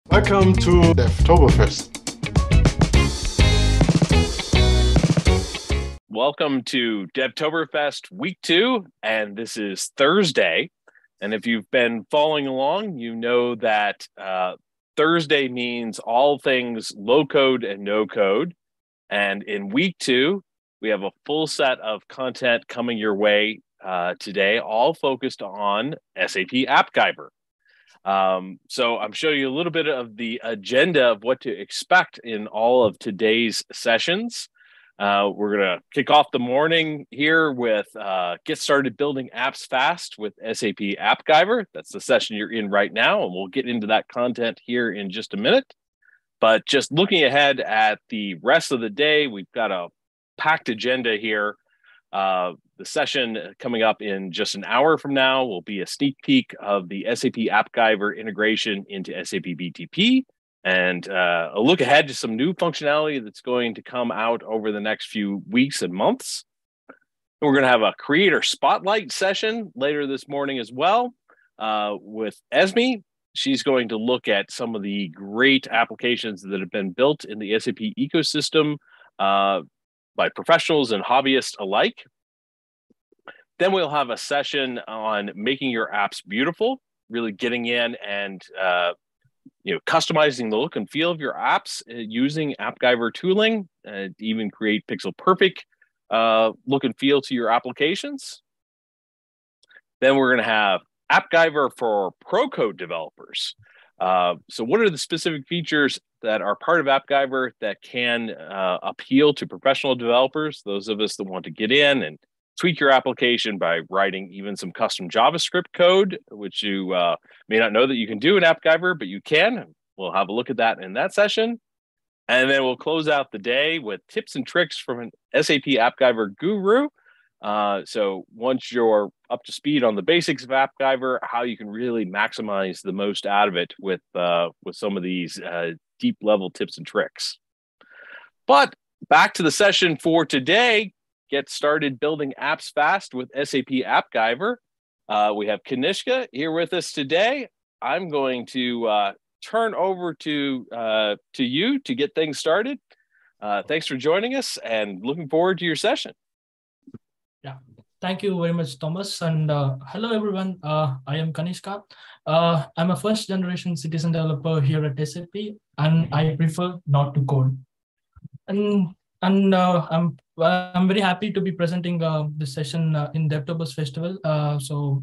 Welcome to Devtoberfest. Welcome to Devtoberfest Week 2, and this is Thursday. And if you've been following along, you know that Thursday means all things low code and no code. And in Week 2, we have a full set of content coming your way today, all focused on SAP AppGyver. So I'm showing you a little bit of the agenda of what to expect in all of today's sessions. We're going to kick off the morning here with Get Started Building Apps Fast with SAP AppGyver. That's the session you're in right now, and we'll get into that content here in just a minute. But just looking ahead at the rest of the day, we've got a packed agenda here. The session coming up in just an hour from now will be a sneak peek of the SAP AppGyver integration into SAP BTP and a look ahead to some new functionality that's going to come out over the next few weeks and months. And we're going to have a creator spotlight session later this morning as well with Esme. She's going to look at some of the great applications that have been built in the SAP ecosystem by professionals and hobbyists alike. Then we'll have a session on making your apps beautiful, really getting in and customizing the look and feel of your apps using AppGyver tooling, to even create pixel perfect look and feel to your applications. Then we're going to have AppGyver for Pro Code developers. So what are the specific features that are part of AppGyver that can appeal to professional developers, those of us that want to get in and tweak your application by writing even some custom JavaScript code, which you may not know that you can do in AppGyver, but you can. We'll have a look at that in that session. And then we'll close out the day with tips and tricks from an SAP AppGyver guru. So once you're up to speed on the basics of AppGyver, how you can really maximize the most out of it with some of these deep level tips and tricks. But back to the session for today. Get started building apps fast with SAP AppGyver. We have Kanishka here with us today. I'm going to turn over to you to get things started. Thanks for joining us and looking forward to your session. Yeah, thank you very much, Thomas. And hello, everyone. I am Kanishka. I'm a first generation citizen developer here at SAP, and I prefer not to code. And I'm very happy to be presenting this session in Devtoberfest Festival. So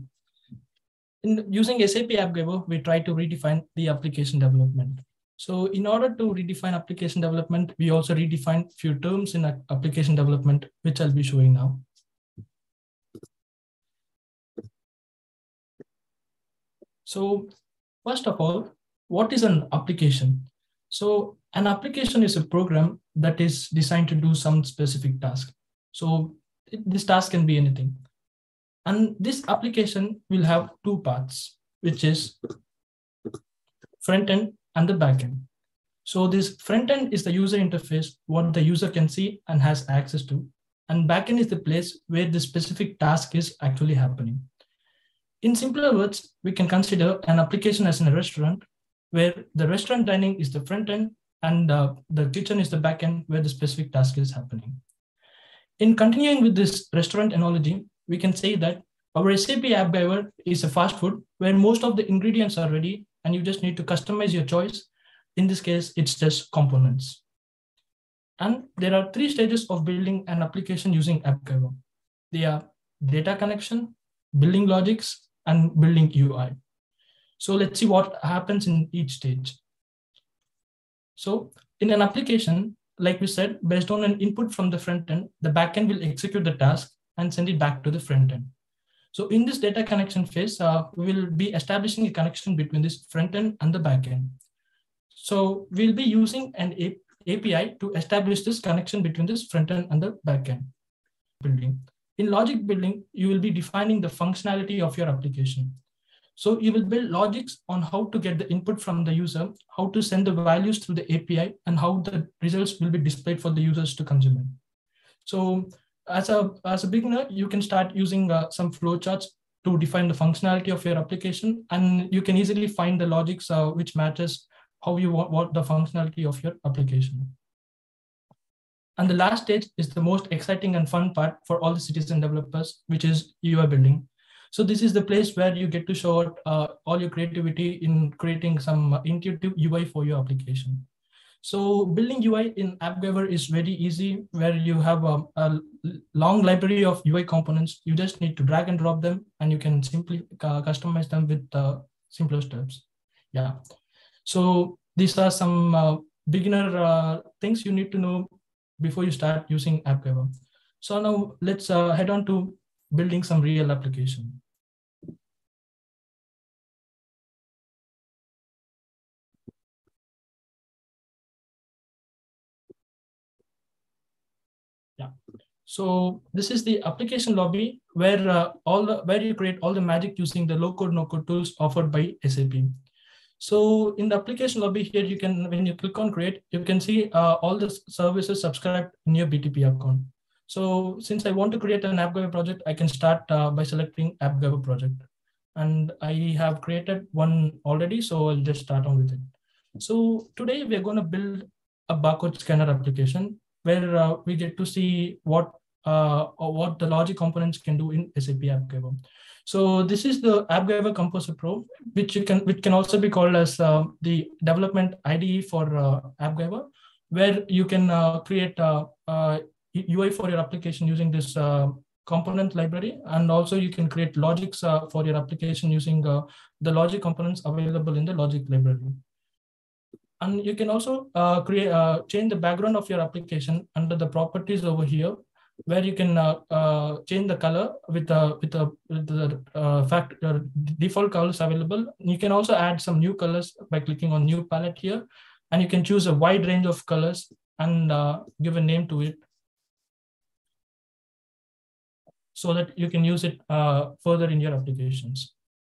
using SAP AppGyver, we try to redefine the application development. So in order to redefine application development, we also redefine few terms in application development, which I'll be showing now. So first of all, what is an application? So an application is a program that is designed to do some specific task. So this task can be anything. And this application will have two parts, which is front end and the back end. So this front end is the user interface, what the user can see and has access to. And back end is the place where the specific task is actually happening. In simpler words, we can consider an application as in a restaurant where the restaurant dining is the front end and the kitchen is the back end where the specific task is happening. In continuing with this restaurant analogy, we can say that our SAP AppGyver is a fast food where most of the ingredients are ready and you just need to customize your choice. In this case, it's just components. And there are three stages of building an application using AppGyver. They are data connection, building logics, and building UI. So let's see what happens in each stage. So in an application, like we said, based on an input from the front end, the backend will execute the task and send it back to the front end. So in this data connection phase, we will be establishing a connection between this front end and the backend. So we'll be using an API to establish this connection between this front end and the backend building. In logic building, you will be defining the functionality of your application. So you will build logics on how to get the input from the user, how to send the values through the API, and how the results will be displayed for the users to consume it. So as a beginner, you can start using some flowcharts to define the functionality of your application, and you can easily find the logics which matches how you want the functionality of your application. And the last stage is the most exciting and fun part for all the citizen developers, which is UI building. So this is the place where you get to show out all your creativity in creating some intuitive UI for your application. So building UI in AppGyver is very easy, where you have a long library of UI components. You just need to drag and drop them, and you can simply customize them with simpler steps. Yeah. So these are some beginner things you need to know before you start using AppGyver. So now let's head on to building some real application. Yeah. So this is the application lobby where where you create all the magic using the low-code, no-code tools offered by SAP. So in the application lobby here, you can, when you click on create, you can see all the services subscribed in your BTP account. So since I want to create an AppGyver project, I can start by selecting AppGyver project. And I have created one already, so I'll just start on with it. So today we're going to build a barcode scanner application where we get to see what the logic components can do in SAP AppGyver. So this is the AppGyver Composer Pro, which can also be called as the development IDE for AppGyver, where you can create UI for your application using this component library, and also you can create logics for your application using the logic components available in the logic library. And you can also change the background of your application under the properties over here, where you can change the color with the default colors available. You can also add some new colors by clicking on new palette here, and you can choose a wide range of colors and give a name to it, so that you can use it further in your applications.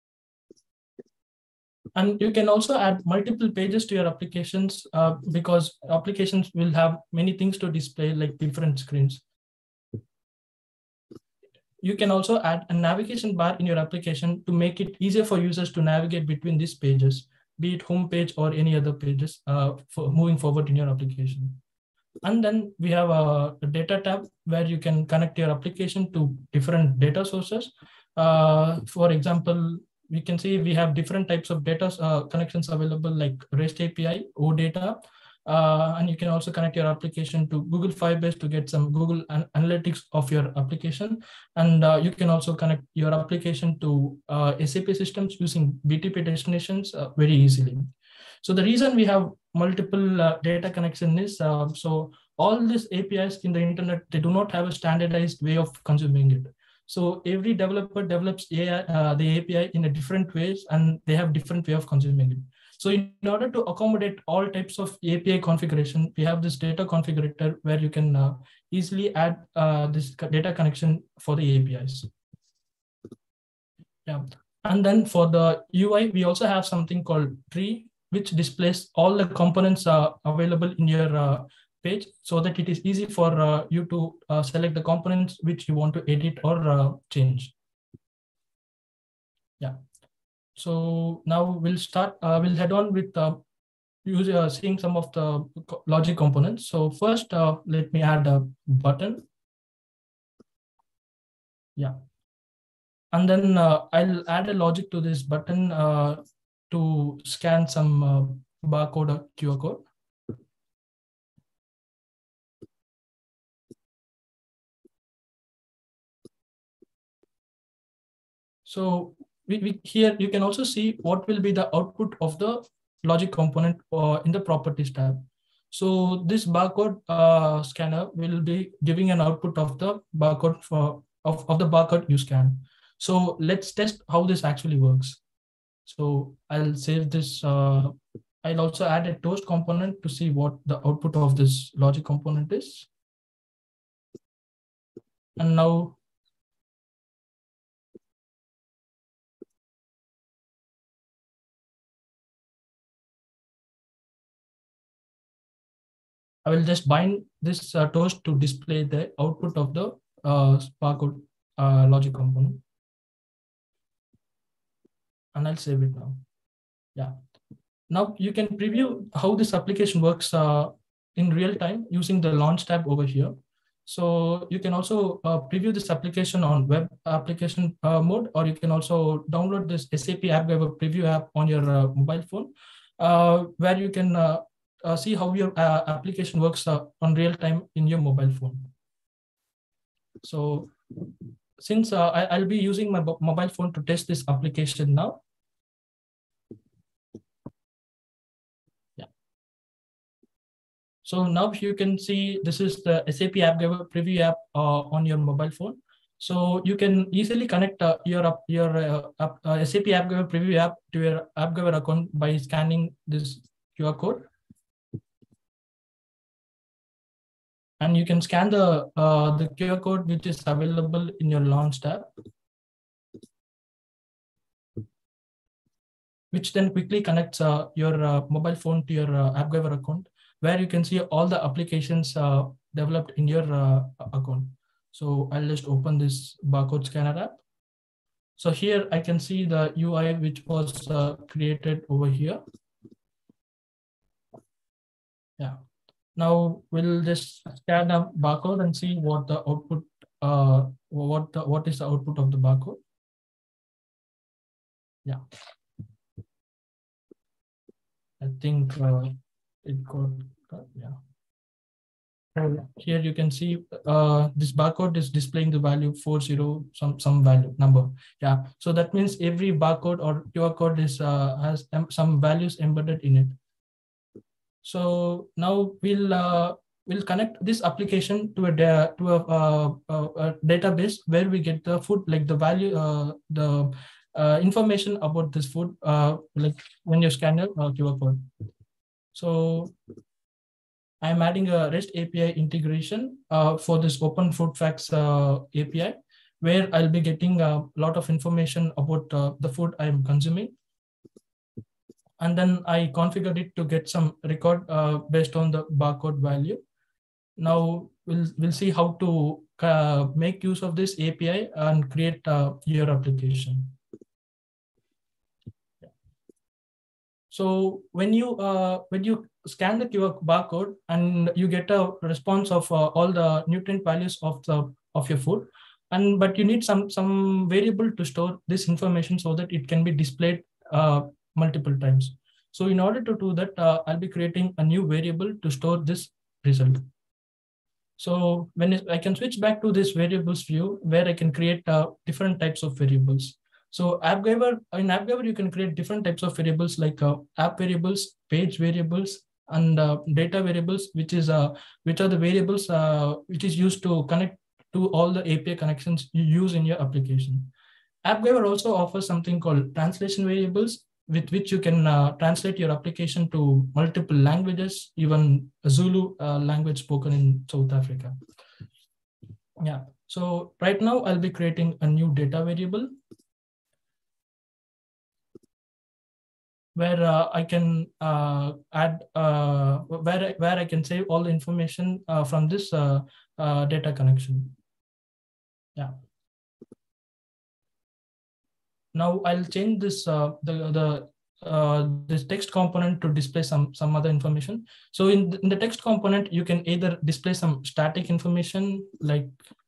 And you can also add multiple pages to your applications because applications will have many things to display, like different screens. You can also add a navigation bar in your application to make it easier for users to navigate between these pages, be it home page or any other pages for moving forward in your application. And then we have a data tab where you can connect your application to different data sources. For example, we can see we have different types of data connections available, like REST API, OData, and you can also connect your application to Google Firebase to get some Google Analytics of your application. And you can also connect your application to SAP systems using BTP destinations very easily. So the reason we have multiple data connection is, so all these APIs in the internet, they do not have a standardized way of consuming it. So every developer develops the API in a different ways, and they have different way of consuming it. So in order to accommodate all types of API configuration, we have this data configurator where you can easily add this data connection for the APIs. Yeah. And then for the UI, we also have something called tree, which displays all the components available in your page, so that it is easy for you to select the components which you want to edit or change. Yeah. So now we'll start, we'll head on with seeing some of the logic components. So first, let me add a button. Yeah. And then I'll add a logic to this button to scan some barcode or QR code. So here you can also see what will be the output of the logic component in the properties tab. So this barcode scanner will be giving an output of the barcode of the barcode you scan. So let's test how this actually works. So I'll save this. I'll also add a toast component to see what the output of this logic component is. And now I will just bind this toast to display the output of the barcode logic component. And I'll save it now. Yeah. Now you can preview how this application works in real time using the launch tab over here. So you can also preview this application on web application mode, or you can also download this SAP AppGyver preview app on your mobile phone, where you can see how your application works on real time in your mobile phone. So since I'll be using my mobile phone to test this application now. Yeah. So now you can see this is the SAP AppGyver preview app on your mobile phone. So you can easily connect your SAP AppGyver preview app to your AppGyver account by scanning this QR code. And you can scan the QR code which is available in your launch tab, which then quickly connects your mobile phone to your AppGyver account, where you can see all the applications developed in your account. So I'll just open this barcode scanner app. So here I can see the UI which was created over here. Yeah. Now we'll just scan a barcode and see what the output, what is the output of the barcode. Yeah. I think it got, yeah. Here you can see this barcode is displaying the value 40 some value number. Yeah. So that means every barcode or QR code is has some values embedded in it. So now we'll connect this application to a database where we get the food, like the value, the information about this food, like when you scan your QR code. So I'm adding a REST API integration for this Open Food Facts API, where I'll be getting a lot of information about the food I'm consuming. And then I configured it to get some record based on the barcode value. Now we'll see how to make use of this API and create your application. So when you scan the QR barcode and you get a response of all the nutrient values of your food, but you need some variable to store this information so that it can be displayed multiple times. So in order to do that, I'll be creating a new variable to store this result. So when I can switch back to this variables view, where I can create different types of variables. So in AppGyver, you can create different types of variables like app variables, page variables, and data variables, which are the variables which is used to connect to all the API connections you use in your application. AppGyver also offers something called translation variables, with which you can translate your application to multiple languages, even a Zulu language spoken in South Africa. Yeah. So right now I'll be creating a new data variable where I can add where I can save all the information from this data connection. Yeah. Now I'll change this this text component to display some other information. So in the text component, you can either display some static information like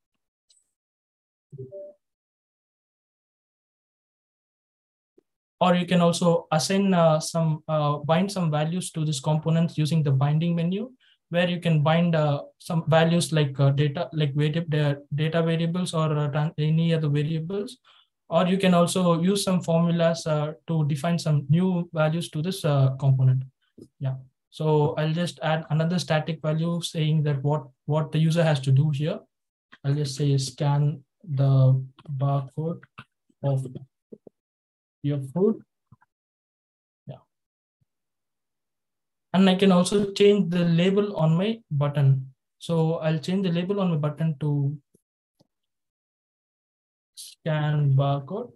or you can also assign bind some values to this component using the binding menu, where you can bind some values like data variables or any other variables. Or you can also use some formulas to define some new values to this component. Yeah. So I'll just add another static value saying that what the user has to do here. I'll just say scan the barcode of your food. Yeah. And I can also change the label on my button. So I'll change the label on my button to scan barcode.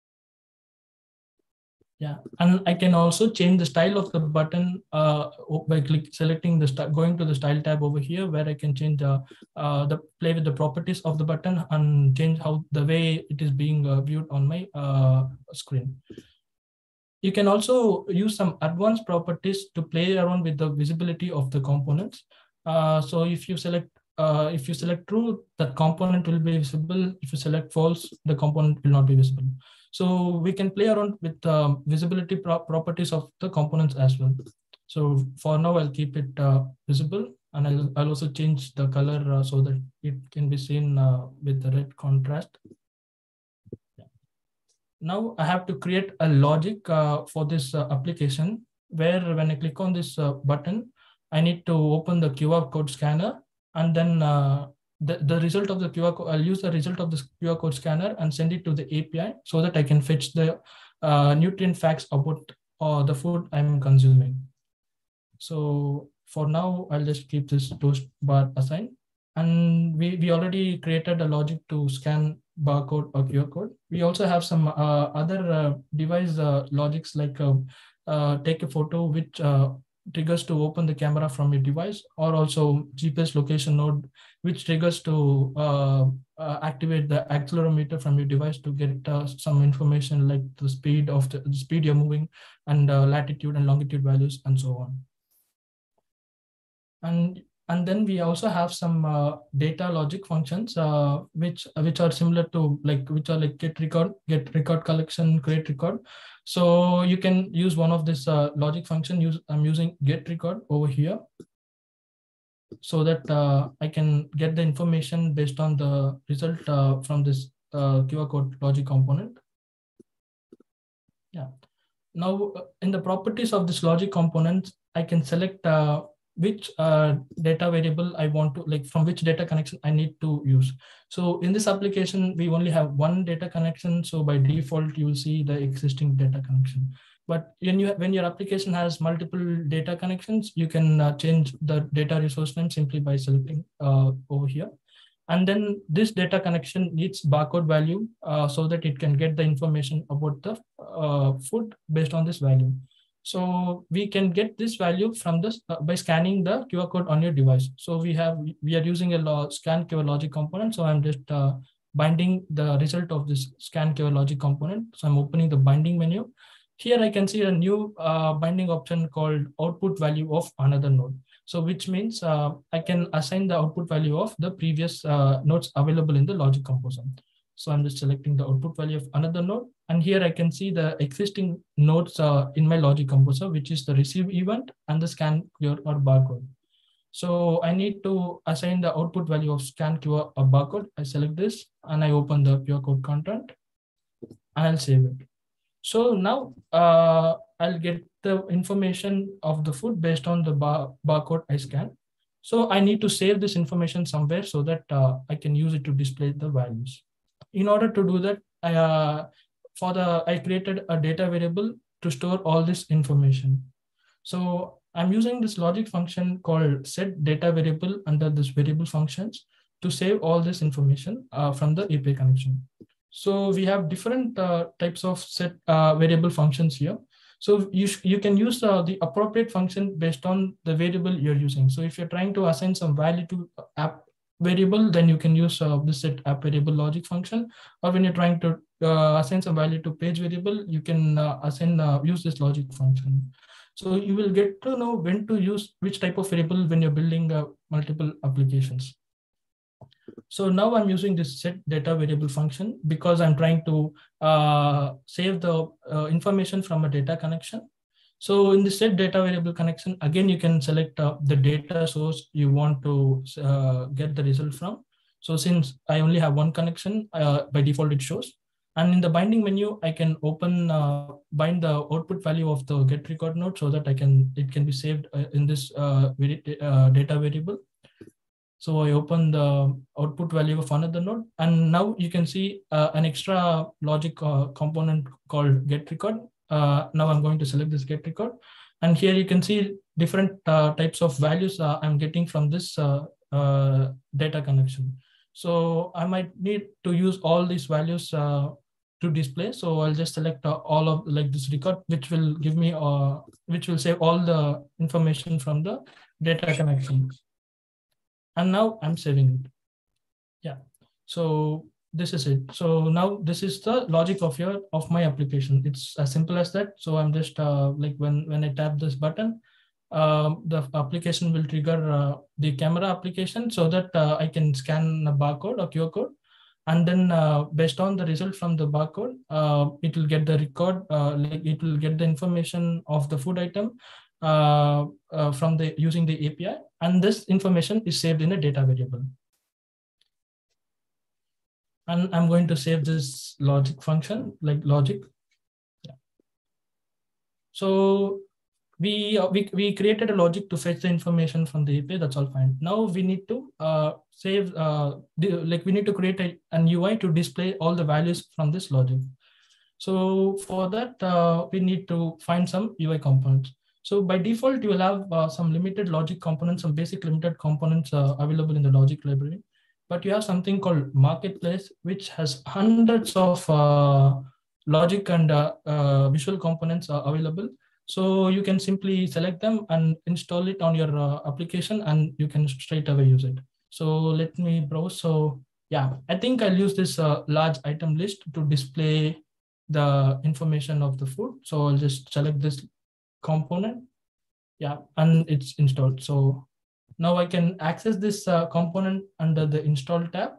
Yeah, and I can also change the style of the button by selecting going to the style tab over here, where I can change the play with the properties of the button and change how the way it is being viewed on my screen. You can also use some advanced properties to play around with the visibility of the components. So if you select true, that component will be visible. If you select false, the component will not be visible. So we can play around with visibility properties of the components as well. So for now, I'll keep it visible, and I'll also change the color so that it can be seen with the red contrast. Now I have to create a logic for this application, where when I click on this button, I need to open the QR code scanner, and then the result of the QR code, I'll use the result of this QR code scanner and send it to the API so that I can fetch the nutrient facts about the food I'm consuming. So for now, I'll just keep this toast bar assigned. And we already created a logic to scan barcode or QR code. We also have some other device logics, like take a photo, which triggers to open the camera from your device, or also GPS location node, which triggers to activate the accelerometer from your device to get some information like the speed of the speed you're moving, and latitude and longitude values, and so on. And then we also have some data logic functions, which are similar to which are like get record collection, create record. So you can use one of this logic function. I'm using get record over here, so that I can get the information based on the result from this QR code logic component. Yeah. Now in the properties of this logic component, I can select which data variable I want to, from which data connection I need to use. So in this application, we only have one data connection. So by default, you will see the existing data connection. But when your application has multiple data connections, you can change the data resource name simply by selecting over here. And then this data connection needs barcode value so that it can get the information about the food based on this value. So we can get this value from this by scanning the QR code on your device. So we are using a scan QR logic component. So I'm just binding the result of this scan QR logic component. So I'm opening the binding menu. Here I can see a new binding option called output value of another node. So which means I can assign the output value of the previous nodes available in the logic composer. So I'm just selecting the output value of another node. And here I can see the existing nodes in my logic composer, which is the receive event and the scan QR or barcode. So I need to assign the output value of scan QR or barcode. I select this and I open the QR code content and I'll save it. So now I'll get the information of the food based on the barcode I scan. So I need to save this information somewhere so that I can use it to display the values. In order to do that, I created a data variable to store all this information. So I'm using this logic function called set data variable under this variable functions to save all this information from the API connection. So we have different types of set variable functions here. So you can use the appropriate function based on the variable you're using. So if you're trying to assign some value to app variable, then you can use this set app variable logic function. Or when you're trying to assign some value to page variable, you can use this logic function. So you will get to know when to use which type of variable when you're building multiple applications. So now I'm using this set data variable function because I'm trying to save the information from a data connection. So in the set data variable connection, again, you can select the data source you want to get the result from. So since I only have one connection, by default it shows. And in the binding menu, I can bind the output value of the get record node so that it can be saved in this data variable. So I open the output value of another node, and now you can see an extra logic component called get record. Now I'm going to select this get record, and here you can see different types of values I'm getting from this data connection. So I might need to use all these values to display. So I'll just select all of this record, which will give me which will save all the information from the data connection. And now I'm saving it. Yeah. So this is it. So now this is the logic of my application. It's as simple as that. So I'm just like when I tap this button, the application will trigger the camera application so that I can scan a barcode or QR code. And then based on the result from the barcode, it will get the record, like it will get the information of the food item from using the API. And this information is saved in a data variable. And I'm going to save this logic function, like logic. Yeah. So we created a logic to fetch the information from the API. That's all fine. Now we need to save, we need to create an UI to display all the values from this logic. So for that, we need to find some UI components. So by default, you will have some limited logic components, some basic limited components available in the logic library. But you have something called Marketplace, which has hundreds of logic and visual components available. So you can simply select them and install it on your application, and you can straight away use it. So let me browse. So yeah, I think I'll use this large item list to display the information of the food. So I'll just select this component. Yeah, and it's installed. So now I can access this component under the install tab.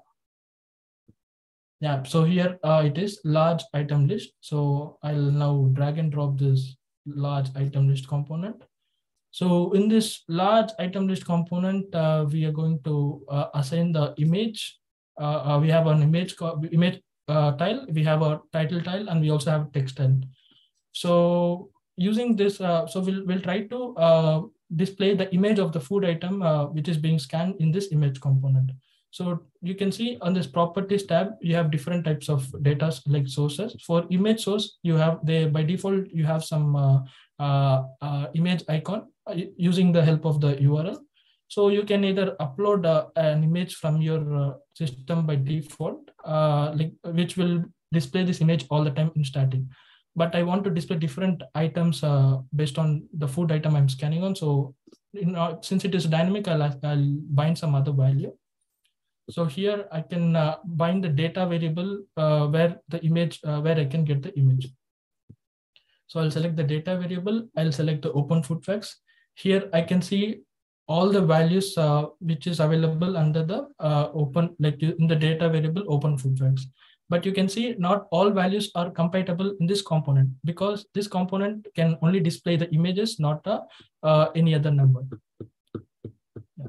Yeah, so here it is large item list. So I'll now drag and drop this large item list component. So in this large item list component, we are going to assign the image. We have an image tile, we have a title tile, and we also have a text tile. So using this, so we'll try to display the image of the food item which is being scanned in this image component. So you can see on this properties tab, you have different types of data like sources. For image source, you have by default, you have some image icon using the help of the URL. So you can either upload an image from your system by default, which will display this image all the time in static. But I want to display different items based on the food item I'm scanning on. So since it is dynamic, I'll bind some other value. So here I can bind the data variable where the image, where I can get the image. So I'll select the data variable. I'll select the open food facts. Here I can see all the values which is available under the open, like in the data variable open food facts. But you can see not all values are compatible in this component, because this component can only display the images, not any other number. Yeah.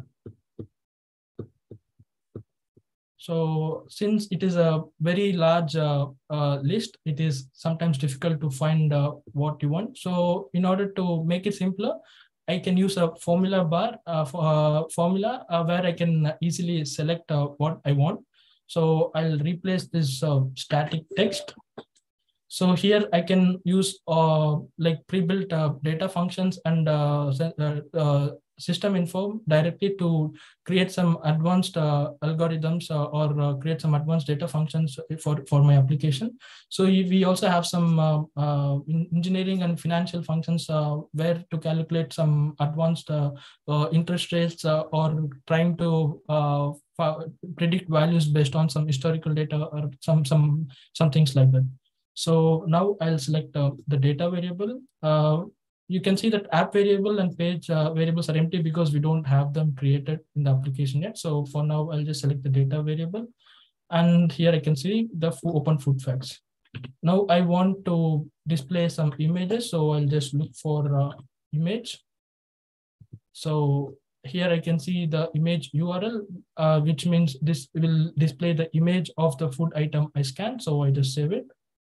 So since it is a very large list, it is sometimes difficult to find what you want. So in order to make it simpler, I can use a formula bar formula where I can easily select what I want. So I'll replace this static text. So here I can use like pre-built data functions and system info directly to create some advanced algorithms or create some advanced data functions for my application. So we also have some engineering and financial functions where to calculate some advanced interest rates or trying to predict values based on some historical data or some things like that. So now I'll select the data variable. You can see that app variable and page variables are empty because we don't have them created in the application yet. So for now, I'll just select the data variable. And here I can see the open food facts. Now I want to display some images. So I'll just look for image. So here I can see the image URL, which means this will display the image of the food item I scanned. So I just save it.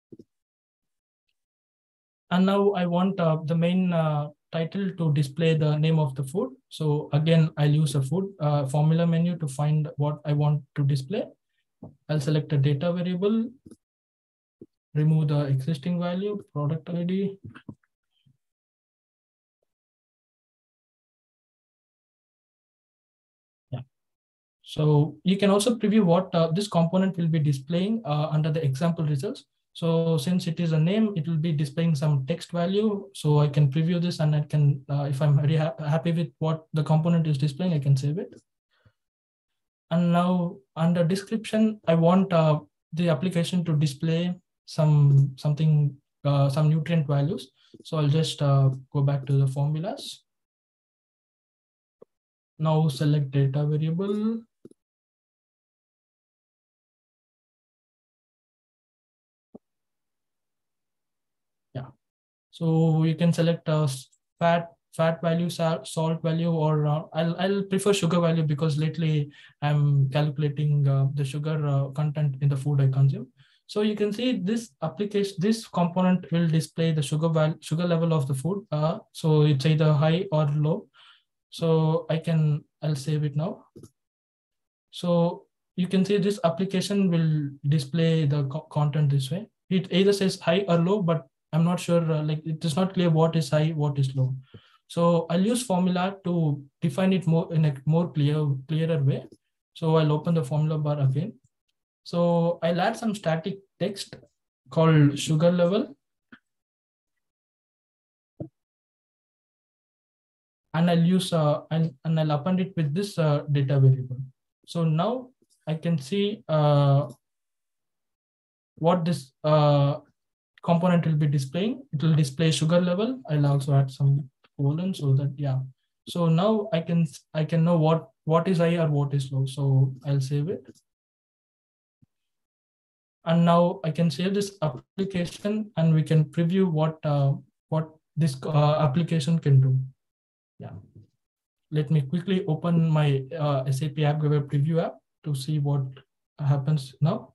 And now I want the main title to display the name of the food. So again, I'll use a food formula menu to find what I want to display. I'll select a data variable, remove the existing value, product ID. Yeah. So you can also preview what this component will be displaying under the example results. So since it is a name, it will be displaying some text value. So I can preview this and I can, if I'm very happy with what the component is displaying, I can save it. And now under description, I want the application to display some nutrient values. So I'll just go back to the formulas. Now select data variable. Yeah. So you can select fat value, salt value, or I'll prefer sugar value because lately I'm calculating the sugar content in the food I consume. So you can see this application, this component will display the sugar level of the food. So it's either high or low. So I'll save it now. So you can see this application will display the content this way. It either says high or low, but I'm not sure, like it is not clear what is high, what is low. So I'll use formula to define it more in a more clearer way. So I'll open the formula bar again. So I'll add some static text called sugar level. And I'll use and I'll append it with this data variable. So now I can see what this component will be displaying. It will display sugar level. I'll also add some colon so that, yeah. So now I can know what is high or what is low. So I'll save it. And now I can save this application and we can preview what this application can do. Yeah. Let me quickly open my SAP AppGyver preview app to see what happens now.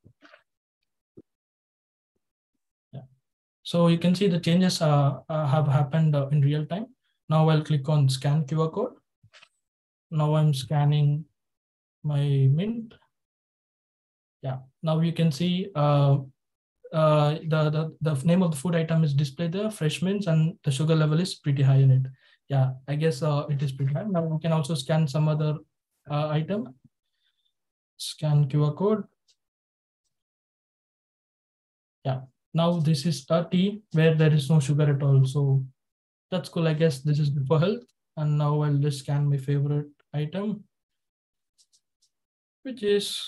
Yeah. So you can see the changes have happened in real time. Now I'll click on scan QR code. Now I'm scanning my Mint. Yeah. Now you can see the name of the food item is displayed there, fresh mints, and the sugar level is pretty high in it. Yeah, I guess it is pretty high. Now we can also scan some other item. Scan QR code. Yeah, now this is a tea where there is no sugar at all. So that's cool. I guess this is good for health. And now I'll just scan my favorite item, which is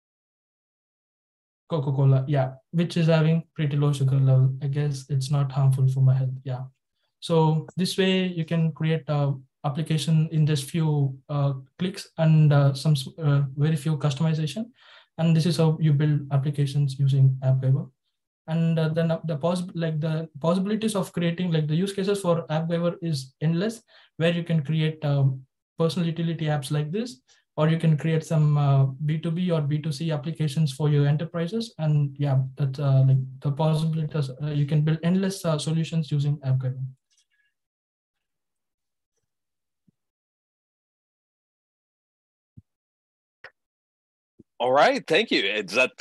Coca-Cola. Yeah, which is having pretty low sugar level. I guess it's not harmful for my health. Yeah. So this way you can create an application in just few clicks and some very few customization. And this is how you build applications using AppGyver. And then the possibilities of creating, like the use cases for AppGyver is endless, where you can create personal utility apps like this, or you can create some B2B or B2C applications for your enterprises. And yeah, that's like the possibilities. You can build endless solutions using AppGyver. All right, thank you. Is that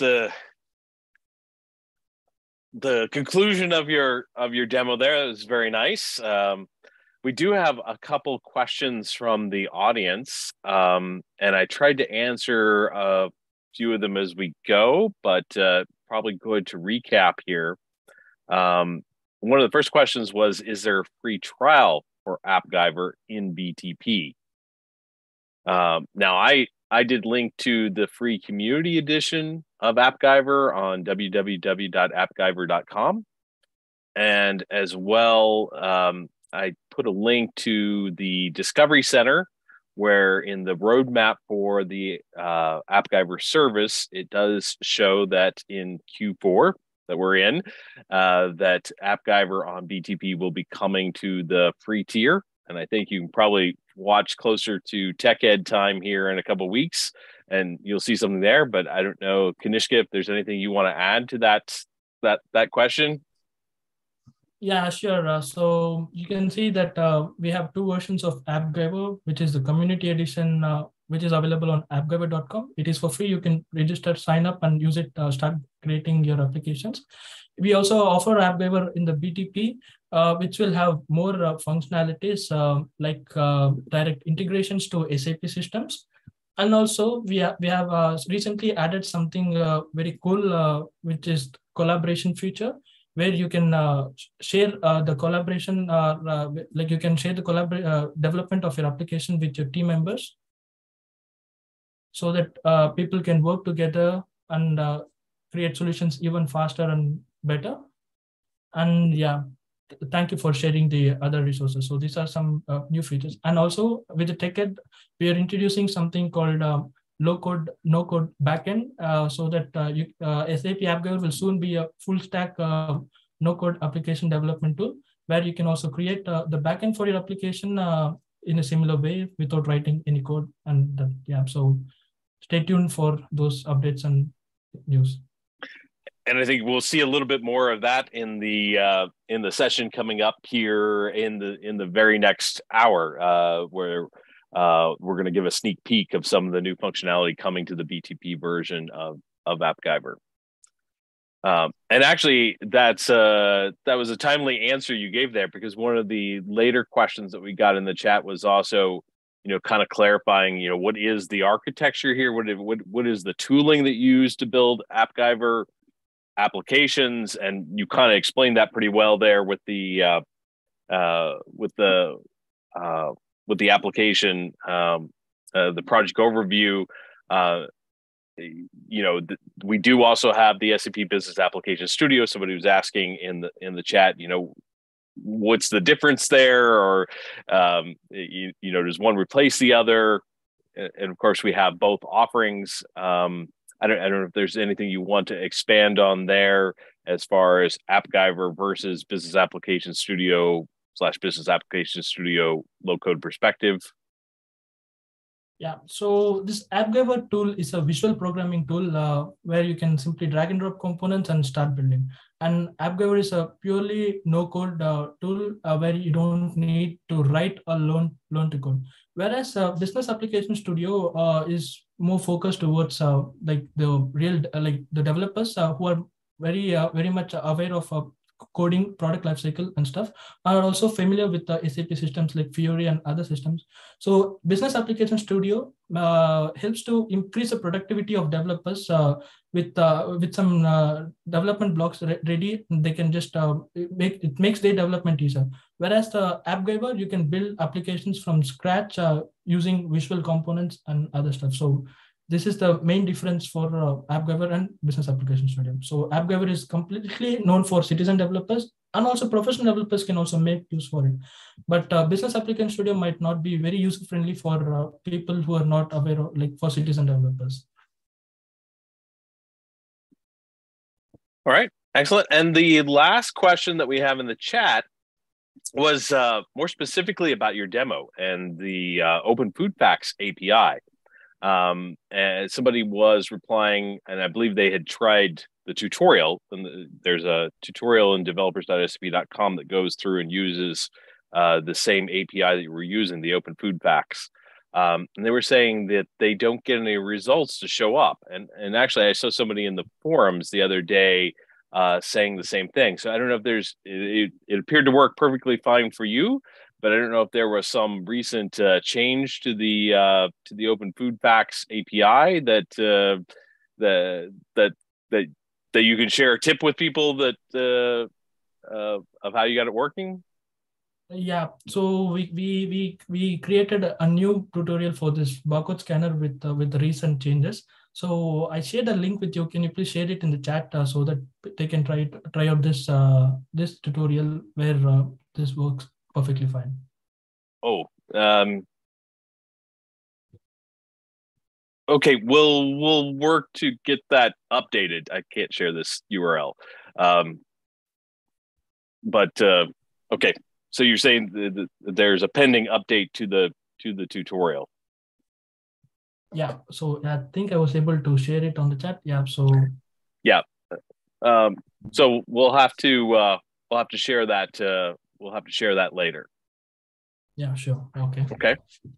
the conclusion of your demo there? That was very nice. We do have a couple questions from the audience, and I tried to answer a few of them as we go, but probably good to recap here. One of the first questions was, is there a free trial for AppGyver in BTP? Now, I did link to the free community edition of AppGyver on www.appgyver.com. And as well, I put a link to the Discovery Center, where in the roadmap for the AppGyver service, it does show that in Q4 that we're in, that AppGyver on BTP will be coming to the free tier. And I think you can probably watch closer to Tech Ed time here in a couple of weeks, and you'll see something there. But I don't know, Kanishka, if there's anything you want to add to that question. Yeah, sure. So you can see that we have two versions of AppGyver, which is the community edition, which is available on appgyver.com. It is for free. You can register, sign up, and use it, start creating your applications. We also offer AppGyver in the BTP, which will have more functionalities like direct integrations to SAP systems. And also we have recently added something very cool, which is collaboration feature, where you can share the collaboration, like you can share the development of your application with your team members, so that people can work together and create solutions even faster and better. And yeah, thank you for sharing the other resources. So these are some new features. And also with the TechEd, we are introducing something called low code, no code backend, so that SAP AppGyver will soon be a full stack no code application development tool, where you can also create the backend for your application in a similar way without writing any code. And yeah, so stay tuned for those updates and news. And I think we'll see a little bit more of that in the session coming up here in the very next hour, where we're going to give a sneak peek of some of the new functionality coming to the BTP version of AppGyver. And actually, that was a timely answer you gave there, because one of the later questions that we got in the chat was also, kind of clarifying, what is the architecture here? What is the tooling that you use to build AppGyver applications? And you kind of explained that pretty well there with the application, the project overview. We do also have the SAP Business Application Studio. Somebody was asking in the chat, what's the difference there, or does one replace the other? And of course, we have both offerings. I don't know if there's anything you want to expand on there as far as AppGyver versus Business Application Studio / Business Application Studio low code perspective. Yeah, so this AppGyver tool is a visual programming tool where you can simply drag and drop components and start building. And AppGyver is a purely no-code tool where you don't need to write or learn to code. Whereas Business Application Studio is more focused towards like the real the developers who are very much aware of coding, product lifecycle and stuff, are also familiar with the SAP systems like Fiori and other systems. So Business Application Studio helps to increase the productivity of developers with some development blocks ready. They can just makes their development easier. Whereas the AppGyver, you can build applications from scratch using visual components and other stuff. So this is the main difference for AppGyver and Business Application Studio. So AppGyver is completely known for citizen developers, and also professional developers can also make use for it. But Business Application Studio might not be very user-friendly for people who are not aware of, like for citizen developers. All right, excellent. And the last question that we have in the chat was more specifically about your demo and the Open Food Facts API. And somebody was replying, and I believe they had tried the tutorial. And there's a tutorial in developers.sap.com that goes through and uses the same API that you were using, the Open Food Facts. And they were saying that they don't get any results to show up. And actually, I saw somebody in the forums the other day saying the same thing. So I don't know if it appeared to work perfectly fine for you, but I don't know if there was some recent change to the Open Food Facts API that you can share a tip with people that of how you got it working. Yeah, so we created a new tutorial for this barcode scanner with the recent changes. So I shared a link with you. Can you please share it in the chat so that they can try out this this tutorial where this works perfectly fine. Oh, okay. We'll work to get that updated. I can't share this URL, but okay. So you're saying that there's a pending update to the tutorial. Yeah. So I think I was able to share it on the chat. Yeah. So yeah. So we'll have to share that. We'll have to share that later. Yeah, sure. Okay. Okay.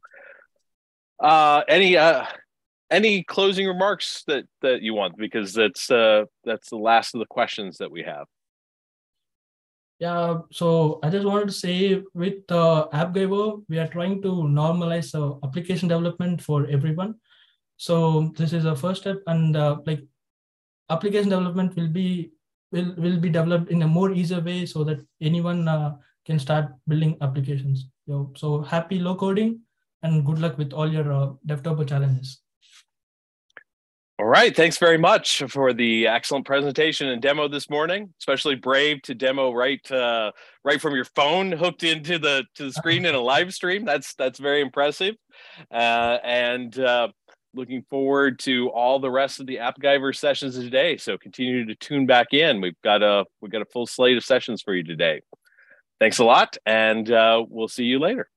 Any closing remarks that you want, because that's the last of the questions that we have. Yeah, so I just wanted to say with AppGyver, we are trying to normalize application development for everyone. So this is a first step, and like application development will be developed in a more easier way so that anyone can start building applications. So happy low coding and good luck with all your DevTurbo challenges. All right. Thanks very much for the excellent presentation and demo this morning. Especially brave to demo right from your phone hooked into the screen in a live stream. That's very impressive. And looking forward to all the rest of the AppGyver sessions today. So continue to tune back in. We've got a full slate of sessions for you today. Thanks a lot, and we'll see you later.